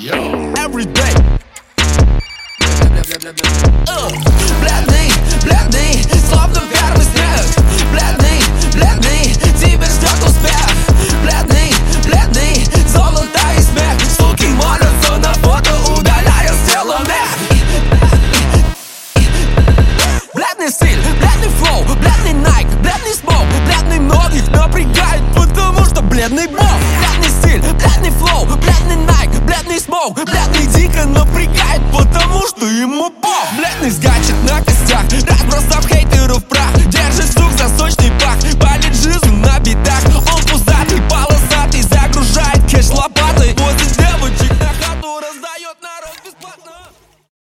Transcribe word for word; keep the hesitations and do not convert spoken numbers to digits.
Every day. Uh, бледный, бледный, словно первый снег. Бледный, бледный, тебя ждет успех. Бледный, бледный, золото и смех. Суки молятся на фото, удаляя с тела мех. Бледный стиль, бледный флоу, бледный Nike, бледный смог. Бледный многих напрягает, потому что бледный бог. Бледный стиль, бледный флоу, бледный Nike, бледный смог. Бледный дико напрягает, потому что ему бог. Бледный скачет на костях,